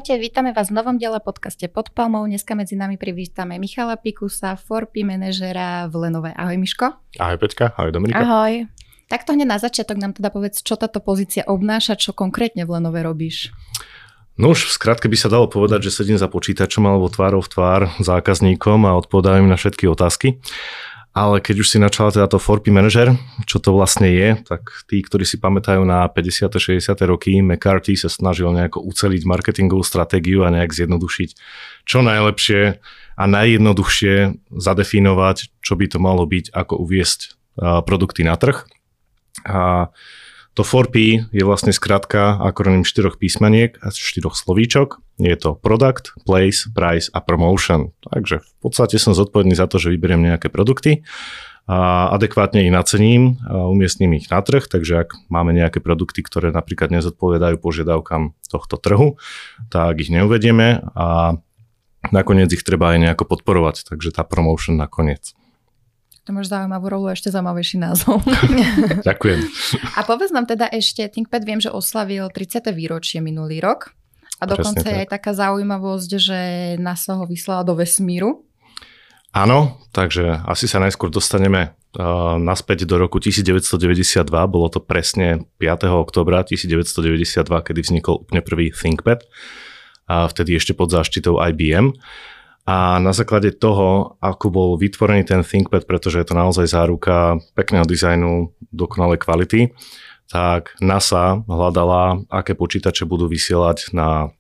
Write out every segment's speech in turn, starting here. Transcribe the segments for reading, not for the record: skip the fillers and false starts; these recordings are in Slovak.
Ahojte, vítame vás v novom diele podcaste Pod palmou. Dneska medzi nami privítame Michala Pikusa, 4P manažera v Lenove. Ahoj Miško. Ahoj Peťka, ahoj Dominika. Ahoj. Takto hneď na začiatok nám teda povedz, čo táto pozícia obnáša, čo konkrétne v Lenove robíš. No už v skratke by sa dalo povedať, že sedím za počítačom alebo tvárou v tvár zákazníkom a odpovedám im na všetky otázky. Ale keď už si načala teda to 4P manažer, čo to vlastne je, tak tí, ktorí si pamätajú na 50. 60. roky, McCarthy sa snažil nejako uceliť marketingovú stratégiu a nejak zjednodušiť čo najlepšie a najjednoduchšie zadefinovať, čo by to malo byť, ako uviesť produkty na trh. A to 4P je vlastne skratka akronym 4 písmeniek a 4 slovíčok. Je to Product, Place, Price a Promotion. Takže v podstate som zodpovedný za to, že vyberiem nejaké produkty a adekvátne ich nacením a umiestním ich na trh. Takže ak máme nejaké produkty, ktoré napríklad nezodpovedajú požiadavkám tohto trhu, tak ich neuvedieme a nakoniec ich treba aj nejako podporovať. Takže tá promotion nakoniec. To máš zaujímavú rolu, ešte zaujímavejší názov. Ďakujem. A povedz nám teda ešte, ThinkPad viem, že oslavil 30. výročie minulý rok a dokonca je aj taká zaujímavosť, že NASA ho vyslala do vesmíru. Áno, takže asi sa najskôr dostaneme naspäť do roku 1992, bolo to presne 5. októbra 1992, kedy vznikol úplne prvý ThinkPad, a vtedy ešte pod záštitou IBM. A na základe toho, ako bol vytvorený ten ThinkPad, pretože je to naozaj záruka pekného dizajnu, dokonalej kvality, tak NASA hľadala, aké počítače budú vysielať na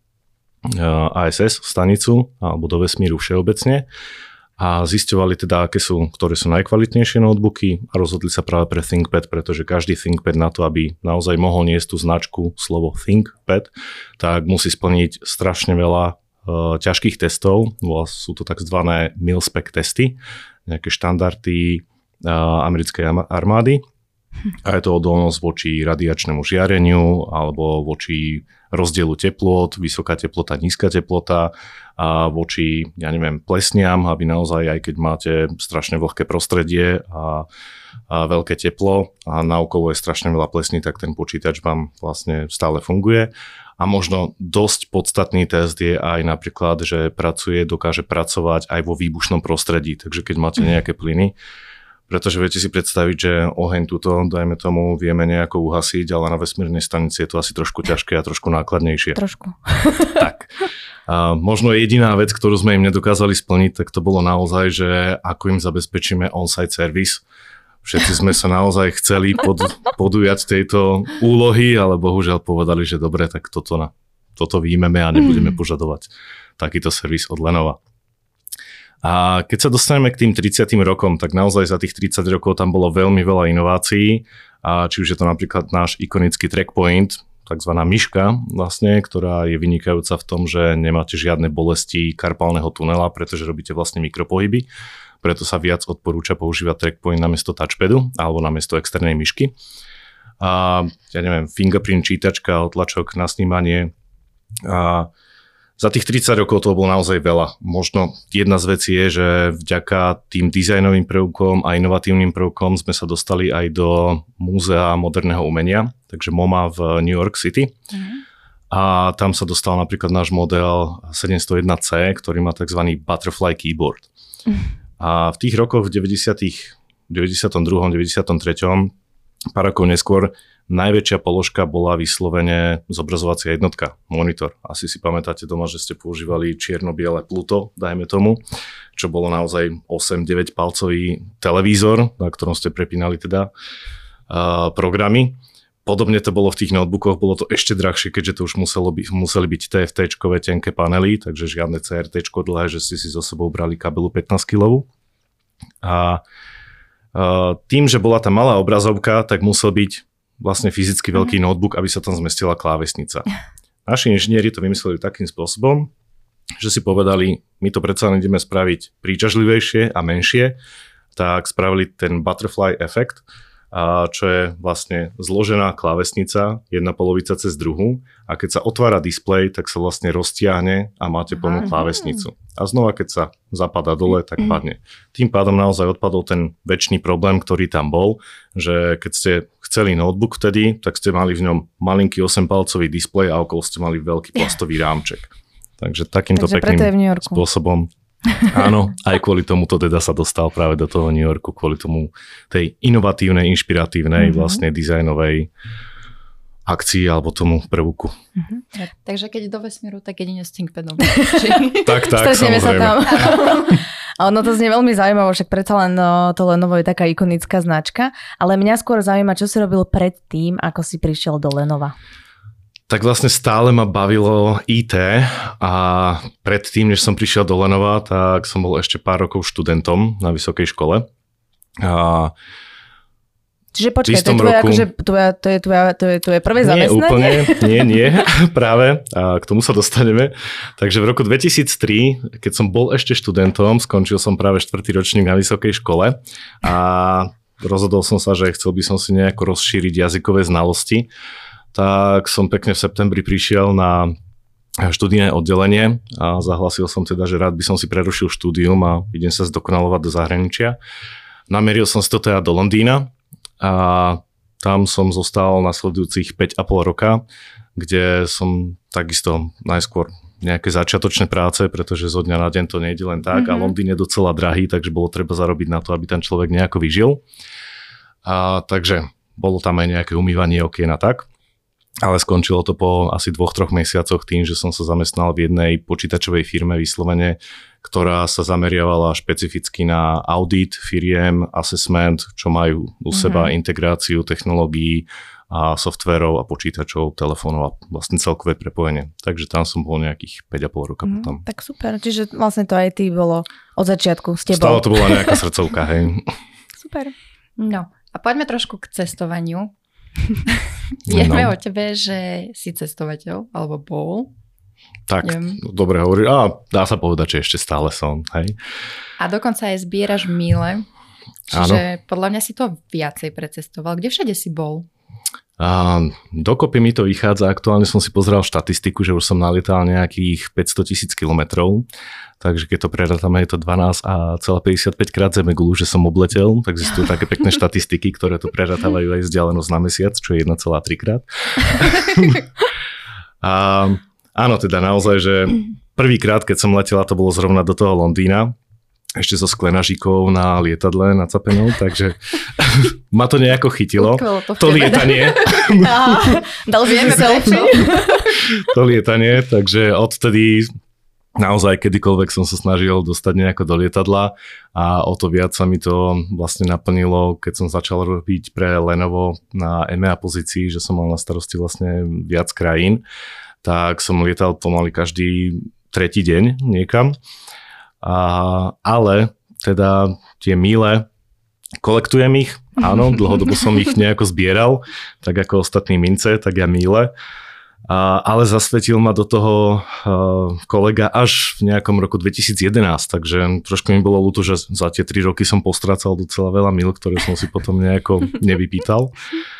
ISS stanicu alebo do vesmíru všeobecne a zisťovali teda, ktoré sú najkvalitnejšie notebooky a rozhodli sa práve pre ThinkPad, pretože každý ThinkPad na to, aby naozaj mohol niesť tú značku slovo ThinkPad, tak musí splniť strašne veľa ťažkých testov, sú to takzvané mil-spec testy, nejaké štandardy americkej armády a je to odolnosť voči radiačnému žiareniu alebo voči rozdielu teplôt, vysoká teplota, nízka teplota a voči, plesniam, aby naozaj, aj keď máte strašne vlhké prostredie a veľké teplo a naokolo je strašne veľa plesní, tak ten počítač vám vlastne stále funguje. A možno dosť podstatný test je aj napríklad, že dokáže pracovať aj vo výbušnom prostredí. Takže keď máte nejaké plyny, pretože viete si predstaviť, že oheň tuto, dajme tomu, vieme nejako uhasiť, ale na vesmírnej stanici je to asi trošku ťažké a trošku nákladnejšie. Trošku. Tak. A možno jediná vec, ktorú sme im nedokázali splniť, tak to bolo naozaj, že ako im zabezpečíme on-site service. Všetci sme sa naozaj chceli podujať tejto úlohy, ale bohužiaľ povedali, že dobre, tak toto výjmeme a nebudeme požadovať takýto servis od Lenova. A keď sa dostaneme k tým 30 rokom, tak naozaj za tých 30 rokov tam bolo veľmi veľa inovácií. A či už je to napríklad náš ikonický trackpoint, takzvaná myška vlastne, ktorá je vynikajúca v tom, že nemáte žiadne bolesti karpálneho tunela, pretože robíte vlastne mikropohyby. Preto sa viac odporúča používať trackpoint namiesto touchpadu alebo namiesto externej myšky. A fingerprint čítačka, otlačok na snímanie. A za tých 30 rokov to bolo naozaj veľa. Možno jedna z vecí je, že vďaka tým dizajnovým prvkom a inovatívnym prvkom sme sa dostali aj do Múzea moderného umenia, takže MoMA v New York City. A tam sa dostal napríklad náš model 701C, ktorý má tzv. Butterfly keyboard. A v tých rokoch v 92., 93., pár rokov neskôr, najväčšia položka bola vyslovene zobrazovacia jednotka, monitor. Asi si pamätáte doma, že ste používali čierno-biele Pluto, dajme tomu, čo bolo naozaj 8-9 palcový televízor, na ktorom ste prepínali teda programy. Podobne to bolo v tých notebookoch, bolo to ešte drahšie, keďže to už museli byť TFT-čkové tenké panely, takže žiadne CRT-čko dlhé, že ste si so sebou brali kabelu 15 kg. A tým, že bola tá malá obrazovka, tak musel byť vlastne fyzicky veľký notebook, aby sa tam zmestila klávesnica. Naši inžinieri to vymysleli takým spôsobom, že si povedali, my to predsa ideme spraviť príťažlivejšie a menšie, tak spravili ten butterfly efekt, čo je vlastne zložená klávesnica, jedna polovica cez druhú a keď sa otvára displej, tak sa vlastne roztiahne a máte plnú klávesnicu. A znova, keď sa zapadá dole, tak padne. Tým pádom naozaj odpadol ten večný problém, ktorý tam bol, že keď ste chceli notebook vtedy, tak ste mali v ňom malinký 8-palcový displej a okolo ste mali veľký plastový rámček. Takže takýmto pekným spôsobom. Áno, aj kvôli tomu to teda sa dostal práve do toho New Yorku, kvôli tomu tej inovatívnej, inšpiratívnej, vlastne dizajnovej akcii alebo tomu prvku. Takže keď do vesmíru, tak jedine s ThinkPadom. tak, samozrejme. Sa tam. A ono to znie veľmi zaujímavé, však predsa len to Lenovo je taká ikonická značka, ale mňa skôr zaujíma, čo si robil predtým, ako si prišiel do Lenova. Tak vlastne stále ma bavilo IT a predtým, než som prišiel do Lenova, tak som bol ešte pár rokov študentom na vysokej škole. Čiže počkaj, to je tvoje prvé zamestnanie? Nie, práve. A k tomu sa dostaneme. Takže v roku 2003, keď som bol ešte študentom, skončil som práve 4. ročník na vysokej škole a rozhodol som sa, že chcel by som si nejako rozšíriť jazykové znalosti. Tak som pekne v septembri prišiel na študijné oddelenie a zahlásil som teda, že rád by som si prerušil štúdium a idem sa zdokonalovať do zahraničia. Namieril som si to teda do Londýna a tam som zostal nasledujúcich 5,5 roka, kde som takisto najskôr nejaké začiatočné práce, pretože zo dňa na deň to nejde len tak a Londýn je docela drahý, takže bolo treba zarobiť na to, aby ten človek nejako vyžil. Takže bolo tam aj nejaké umývanie okien a tak. Ale skončilo to po asi 2-3 mesiacoch tým, že som sa zamestnal v jednej počítačovej firme vyslovene, ktorá sa zameriavala špecificky na audit firiem, assessment, čo majú u seba integráciu technológií a softverov a počítačov, telefónov a vlastne celkové prepojenie. Takže tam som bol nejakých 5,5 roka potom. Tak super, čiže vlastne to aj ty bolo od začiatku s tebou. Stále to bola nejaká srdcovka, hej. Super. No a poďme trošku k cestovaniu. Vieme o tebe, že si cestovateľ, alebo bol. Tak, dobre hovorí. Dá sa povedať, že ešte stále som, hej. A dokonca aj zbieraš míle. Čiže podľa mňa si to viacej precestoval. Kde všade si bol? Dokopy mi to vychádza. Aktuálne som si pozeral štatistiku, že už som nalietal nejakých 500 000 kilometrov. Takže keď to prerátame, je to 12,55 krát zemegulu, že som obletel. Tak existujú také pekné štatistiky, ktoré to prerátávajú aj vzdialenosť na mesiac, čo je 1,3 krát. Áno, teda naozaj, že prvýkrát, keď som letel, to bolo zrovna do toho Londýna, ešte so sklenažíkou na lietadle nacapenou, takže ma to nejako chytilo. To lietanie. Dal si selfie. To lietanie, takže odtedy naozaj kedykoľvek som sa snažil dostať nejako do lietadla a o to viac sa mi to vlastne naplnilo, keď som začal robiť pre Lenovo na EMEA pozícii, že som mal na starosti vlastne viac krajín, tak som lietal pomaly každý tretí deň niekam. Ale teda tie míle, kolektujem ich, áno, dlhodobo som ich nejako zbieral, tak ako ostatní mince, tak ja míle. Ale zasvetil ma do toho kolega až v nejakom roku 2011, takže trošku mi bolo ľúto, že za tie 3 roky som postrácal docela veľa míl, ktoré som si potom nejako nevypýtal.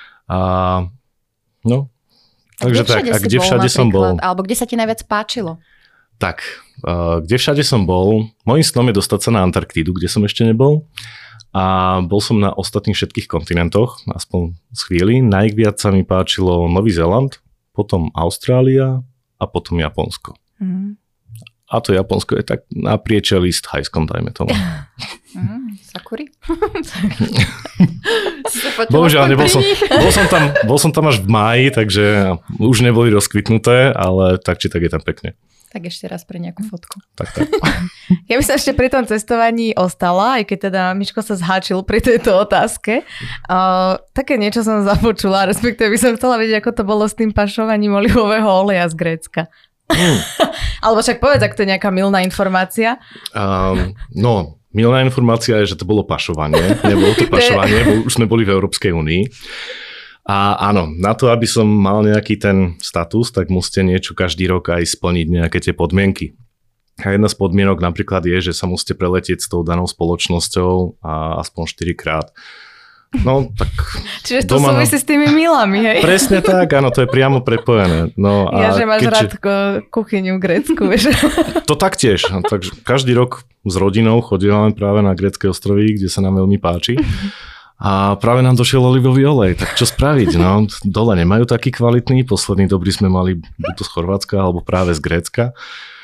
Takže tak, a kde všade som bol? Alebo kde sa ti najviac páčilo? Tak, kde všade som bol? Mojím snom je dostať sa na Antarktídu, kde som ešte nebol. A bol som na ostatných všetkých kontinentoch, aspoň z chvíli. Najviac sa mi páčilo Nový Zéland, potom Austrália a potom Japonsko. A to Japonsko je tak na priečelí s Thajskom, dajme tomu. Sakuri? Bohužiaľ, bol som tam až v máji, takže už neboli rozkvitnuté, ale tak či tak je tam pekne. Tak ešte raz pre nejakú fotku. Tak. Ja by som ešte pri tom cestovaní ostala, aj keď teda Miško sa zháčil pri tejto otázke. Také niečo som započula, respektíve by som chcela vedieť, ako to bolo s tým pašovaním olivového oleja z Grécka. Alebo však povedz, ak to je nejaká mylná informácia. Mylná informácia je, že to bolo pašovanie. Nebolo to pašovanie, už sme boli v Európskej únii. A áno, na to, aby som mal nejaký ten status, tak musíte niečo každý rok aj splniť nejaké tie podmienky. A jedna z podmienok napríklad je, že sa musíte preletieť s tou danou spoločnosťou a aspoň 4 krát. No, tak... Čiže to súvisí s tými milami, hej? Presne tak, áno, to je priamo prepojené. No, a že máš rád kuchyňu v Grécku, vieš? To taktiež. Takže každý rok s rodinou chodíme práve na grécké ostrovy, kde sa nám veľmi páči. A práve nám došiel olivový olej, tak čo spraviť? No, dole nemajú taký kvalitný, posledný dobrý sme mali buď to z Chorvátska, alebo práve z Grécka.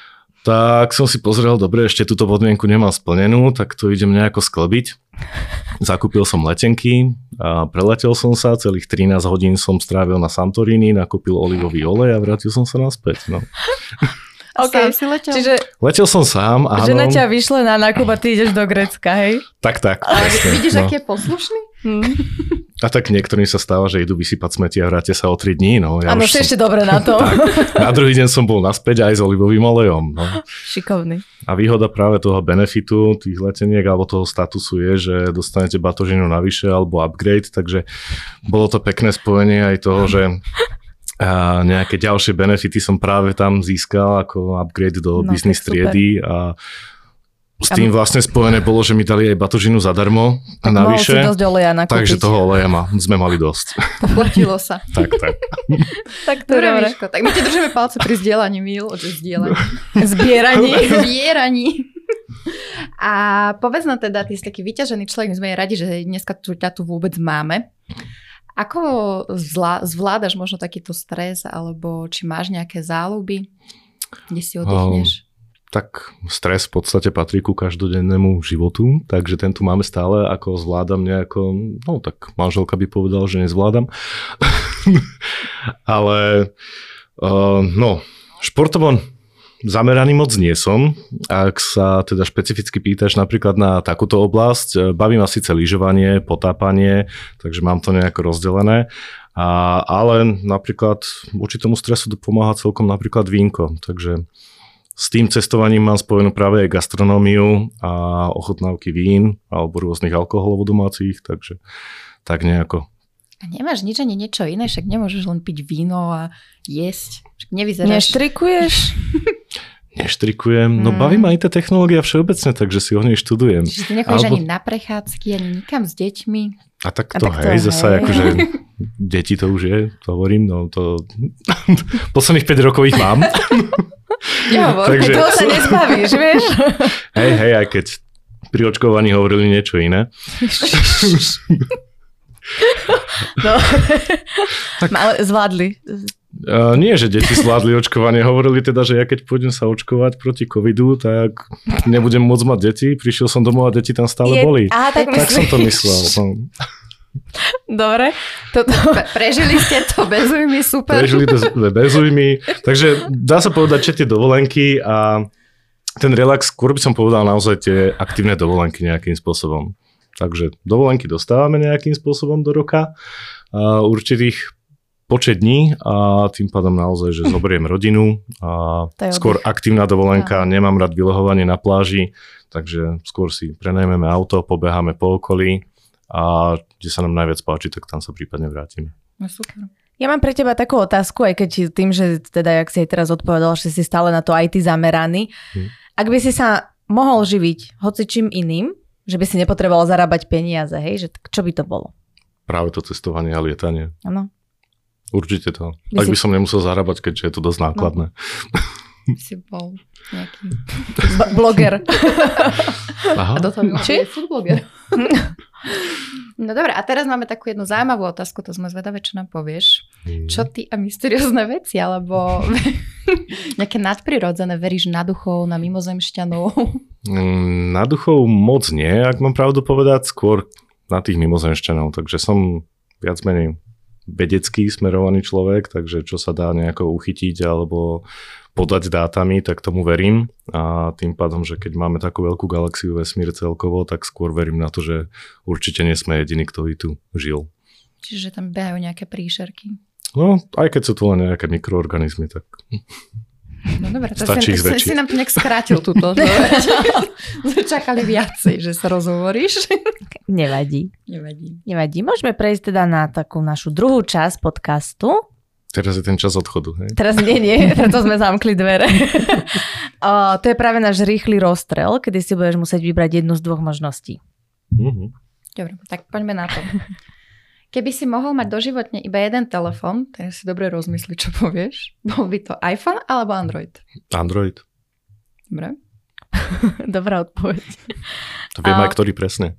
Tak som si pozrel, dobre, ešte túto podmienku nemám splnenú, tak to idem nejako sklbiť. Zakúpil som letenky a preletel som sa, celých 13 hodín som strávil na Santorini, nakúpil olivový olej a vrátil som sa naspäť. No. Okay. Sám si letel? Čiže letel som sám, áno. Žena ťa vyšle na nákup a ty ideš do Grécka, hej? Tak. Vidíš, aký je poslušný? A tak niektorým sa stáva, že idú vysypať smeti a vrátia sa o 3 dní. No. Áno, si ešte dobre na to. Tak, na druhý deň som bol naspäť aj s olivovým olejom. No. Šikovný. A výhoda práve toho benefitu tých leteniek alebo toho statusu je, že dostanete batožinu navyše alebo upgrade, takže bolo to pekné spojenie aj toho, že a nejaké ďalšie benefity som práve tam získal ako upgrade do business triedy a s tým vlastne spojené bolo, že mi dali aj batožinu zadarmo a navyše. Mohol si dosť oleja nakúpiť. Takže toho oleja sme mali dosť. Platilo sa. tak. Tak to dobre, Miško. Tak my ti držíme palce pri zdieľaní míl, Zbieraní. A povedz nám teda, ty si taký vyťažený človek, my sme radi, že dneska ťa tu vôbec máme. Ako zvládaš možno takýto stres, alebo či máš nejaké záľuby, kde si oddychneš? Tak stres v podstate patrí ku každodennému životu, takže ten tu máme stále, ako zvládam nejako, no tak manželka by povedala, že nezvládam. Ale športovo zameraný moc nie som. Ak sa teda špecificky pýtaš napríklad na takúto oblasť, baví ma síce lyžovanie, potápanie, takže mám to nejako rozdelené. Ale napríklad voči tomu stresu pomáha celkom napríklad vínko, takže s tým cestovaním mám spojenú práve aj gastronómiu a ochutnávky vín alebo rôznych alkoholov domácich, takže tak nejako. A nemáš nič ani niečo iné, však nemôžeš len piť víno a jesť. Však nevyzeráš. Neštrikuješ? Neštrikujem. No baví ma aj tá technológia všeobecne, takže si o nej študujem. Čiže ty nechodíš ani na prechádzky, ani nikam s deťmi? A tak to zasa akože deti to už je, to hovorím, no to posledných 5 rokov ich mám. Nehovor, takže toho sa nezbavíš, vieš? Hej, aj keď pri očkovaní hovorili niečo iné. No, ale zvládli. Nie, že deti zvládli očkovanie. Hovorili teda, že ja keď pôjdem sa očkovať proti covidu, tak nebudem môcť mať deti. Prišiel som domov a deti tam stále boli. Tak som to myslel. No. Dobre. Prežili ste to bez ujmy, super. Prežili to bez ujmy. Takže dá sa povedať, že tie dovolenky a ten relax, skôr by som povedal naozaj tie aktívne dovolenky nejakým spôsobom. Takže dovolenky dostávame nejakým spôsobom do roka. Určitých počet dní a tým pádom naozaj, že zoberiem rodinu a skôr aktívna dovolenka, nemám rád vylehovanie na pláži, takže skôr si prenajmeme auto, pobeháme po okolí a kde sa nám najviac páči, tak tam sa prípadne vrátime. No super. Ja mám pre teba takú otázku, aj keď tým, že teda, jak si aj teraz odpovedal, že si stále na to IT zameraný. Ak by si sa mohol živiť hocičím iným, že by si nepotreboval zarábať peniaze, hej, že čo by to bolo? Práve to cestovanie a lietanie. Áno. Určite to. Ak by som nemusel zarábať, keďže je to dosť nákladné. Si bol nejaký bloger. Aha. A do toho je food bloger. No dobre, a teraz máme takú jednu zaujímavú otázku, to sme zvedavé, čo nám povieš. Čo ty a mysteriózne veci, alebo nejaké nadprirodzené, veríš na duchov, na mimozemšťanov? Na duchov moc nie, ak mám pravdu povedať, skôr na tých mimozemšťanov, takže som viac menej vedecký smerovaný človek, takže čo sa dá nejako uchytiť alebo podať dátami, tak tomu verím a tým pádom, že keď máme takú veľkú galaxiu vesmír celkovo, tak skôr verím na to, že určite nie sme jediní, kto tu žil. Čiže tam behajú nejaké príšerky. No, aj keď sú to len nejaké mikroorganizmy, tak no dobre, to si nám to nejak skrátil túto. Čakali viacej, že sa rozhovoríš. Nevadí. Môžeme prejsť teda na takú našu druhú časť podcastu. Teraz je ten čas odchodu, hej? Teraz nie, preto sme zamkli dvere. To je práve náš rýchly rozstrel, kedy si budeš musieť vybrať jednu z dvoch možností. Dobre, tak poďme na to. Keby si mohol mať doživotne iba jeden telefón, tak si dobre rozmysli, čo povieš. Bol by to iPhone alebo Android? Android. Dobre. Dobrá odpoveď. To viem aj ktorý presne.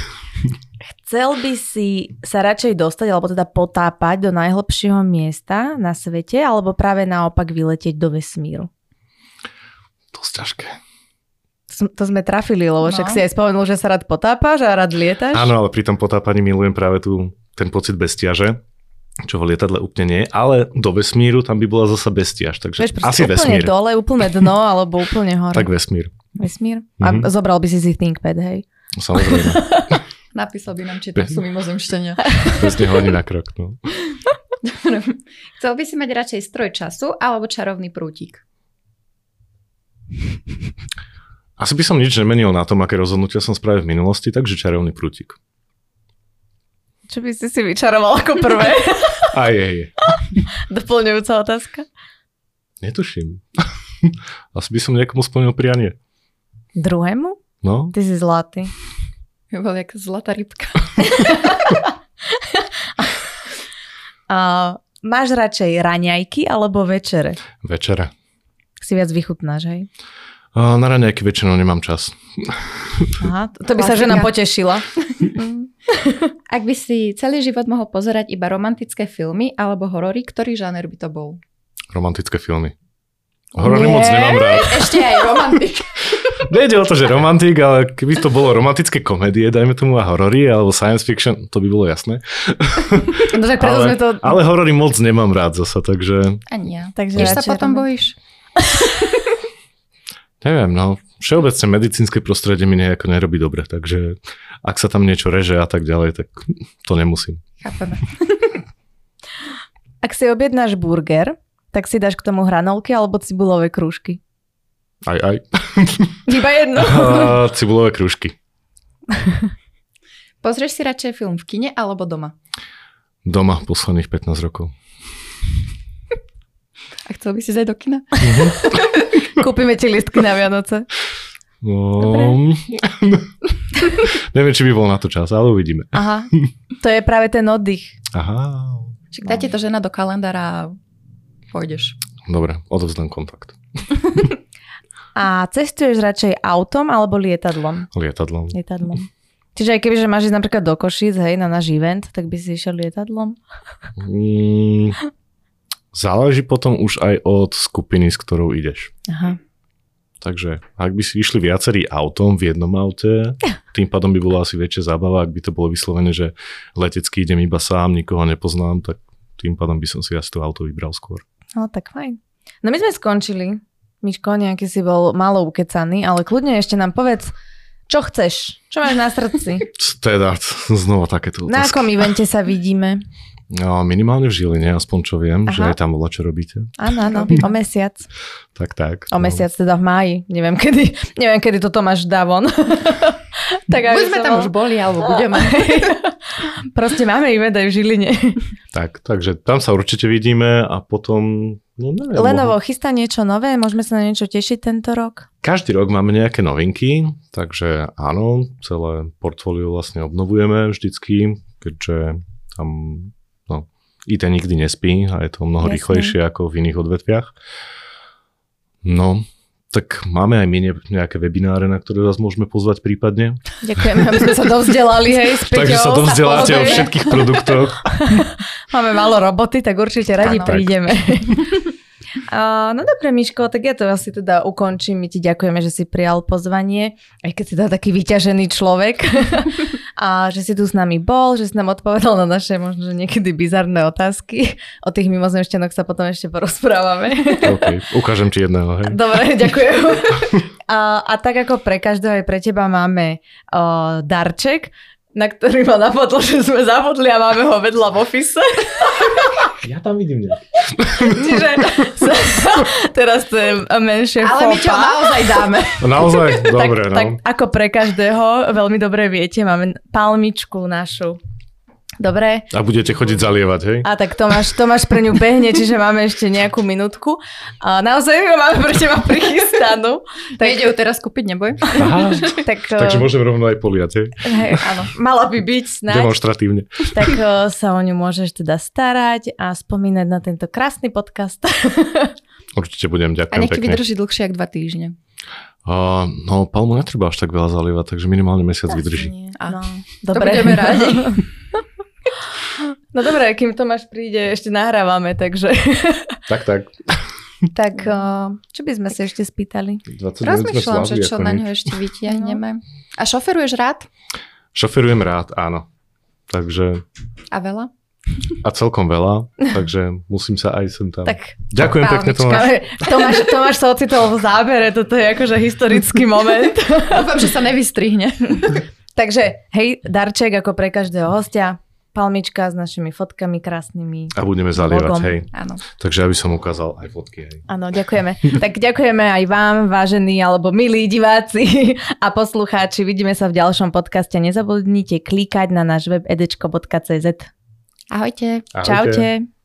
Chcel by si sa radšej dostať, alebo teda potápať do najhlbšieho miesta na svete, alebo práve naopak vyletieť do vesmíru? Dosť ťažké. To sme trafili, lebo však si aj spomenul, že sa rád potápaš a rád lietaš. Áno, ale pri tom potápaní milujem práve ten pocit bezťaže, čo v lietadle úplne nie, ale do vesmíru tam by bola zasa bezťaž, takže Vieš, asi úplne vesmír. dole, úplne dno, alebo úplne hore. Tak vesmír. Vesmír? A zobral by si ThinkPad, hej? Samozrejme. Napísal by nám, či tam sú mimozemšťania. Bez neho ani na krok, no. Chcel by si mať radšej stroj času alebo čarovný prútik? Asi by som nič nemenil na tom, aké rozhodnutia som spravil v minulosti, takže čarovný prútik. Čo by si vyčaroval ako prvé? Aj je. Doplňujúca otázka? Netuším. Asi by som niekomu splnil prianie. Druhému? No. Ty si zlatý. Je bol jak zlatá rybka. Máš radšej raňajky alebo večere? Večere. Si viac vychutnáš, hej? Na raňajky väčšinou nemám čas. Aha, to by sa žena potešila. Ak by si celý život mohol pozerať iba romantické filmy alebo horory, ktorý žáner by to bol? Romantické filmy. Horory moc nemám rád. Ešte aj romantik. Nejde o to, že romantik, ale keby to bolo romantické komédie, dajme tomu a horory, alebo science fiction, to by bolo jasné. No tak preto sme to... Ale horory moc nemám rád zasa, takže... Ani ja. Takže Tiež sa potom bojíš? Neviem, no. Všeobecne medicínske prostredie mi nejako nerobí dobre, takže ak sa tam niečo reže a tak ďalej, tak to nemusím. Chápeme. Ak si objednáš burger, tak si dáš k tomu hranolky alebo cibulové krúžky? Aj. Iba jedno. Cibulové krúžky. Pozrieš si radšej film v kine alebo doma? Doma posledných 15 rokov. A chcel by si zajť do kina? Kúpime ti listky na Vianoce. No, neviem, či by bol na to čas, ale uvidíme. Aha, to je práve ten oddych. Aha. Čiže dajte to žena do kalendára a pôjdeš. Dobre, odovzdám kontakt. A cestuješ radšej autom alebo lietadlom? Lietadlom. Čiže aj keby, že máš ísť napríklad do Košíc, hej, na náš event, tak by si išiel lietadlom? Záleží potom už aj od skupiny, s ktorou ideš. Aha. Takže ak by si išli viacerí autom v jednom aute, tým pádom by bola asi väčšia zábava, ak by to bolo vyslovené, že letecky idem iba sám, nikoho nepoznám, tak tým pádom by som si asi to auto vybral skôr. No tak fajn. No my sme skončili. Miško, nejaký si bol málo ukecaný, ale kľudne ešte nám povedz, čo chceš? Čo máš na srdci? Teda, znova takéto otázky. Na akom evente sa vidíme? No, minimálne v Žiline, aspoň čo viem, že aj tam bola, čo robíte. Áno, o mesiac. Tak. O mesiac teda v máji. Neviem, kedy to Tomáš dá von. Tak, buď sme tam už boli, alebo budeme. Proste máme event aj v Žiline. Takže tam sa určite vidíme a potom... No neviem, Lenovo chystá niečo nové? Môžeme sa na niečo tešiť tento rok? Každý rok máme nejaké novinky, takže áno, celé portfólio vlastne obnovujeme vždycky, keďže tam IT nikdy nespí a je to mnoho rýchlejšie ako v iných odvetviach. No, tak máme aj my nejaké webináre, na ktoré vás môžeme pozvať prípadne. Ďakujeme, aby sme sa dovzdelali, hej, s Peťou. Takže sa dovzdeláte o všetkých produktoch. Máme málo roboty, tak určite radi prídeme. No dobre, Miško, tak ja to asi teda ukončím. My ti ďakujeme, že si prijal pozvanie, aj keď si teda taký vyťažený človek. A že si tu s nami bol, že si nám odpovedal na naše možno niekedy bizarné otázky. O tých mimozemšťanoch sa potom ešte porozprávame. OK, ukážem ti jedného. Hej. Dobre, ďakujem. A tak ako pre každého aj pre teba máme darček, na ktorý ma napadlo, že sme zabudli a máme ho vedľa v office. Ja tam vidím nejaký. Čiže teraz to je menšie fopa. Ale my čo naozaj dáme. Naozaj? Dobre, tak ako pre každého, veľmi dobre viete, máme palmičku našu. Dobre? A budete chodiť zalievať, hej? A tak Tomáš pre ňu behne, čiže máme ešte nejakú minútku. A naozaj ju máme pre teba prichystanú. Nejde ju teraz kúpiť, neboj. Aha, takže môžem rovno aj poliať, hej? Hej, áno, mala by byť snáď. Demonstratívne. Tak sa o ňu môžeš teda starať a spomínať na tento krásny podcast. Určite budem, ďakujem pekne. A nech ti vydrží dlhšie ako 2 týždne. No, palmu netreba až tak veľa zalievať, takže minimálne mesiac vydrží. No, dobre. To budeme rádi. No dobré, kým Tomáš príde, ešte nahrávame, takže... Tak. Tak čo by sme sa ešte spýtali? Rozmýšľam, že čo na ňo ešte vytiahneme. A šoferuješ rád? Šoferujem rád, áno. Takže... A veľa? A celkom veľa, takže musím sa aj sem tam. Tak, ďakujem pekne, Tomáš. Tomáš sa ocitol v zábere, toto je akože historický moment. Dúfam, že sa nevystrihne. Takže, hej, darček ako pre každého hostia. Palmička s našimi fotkami krásnymi. A budeme zalievať, hej. Áno. Takže aby som ukázal aj fotky, hej. Áno, ďakujeme. Tak ďakujeme aj vám, vážení alebo milí diváci a poslucháči. Vidíme sa v ďalšom podcaste. Nezabudnite klikať na náš web edečko.cz. Ahojte. Čaute.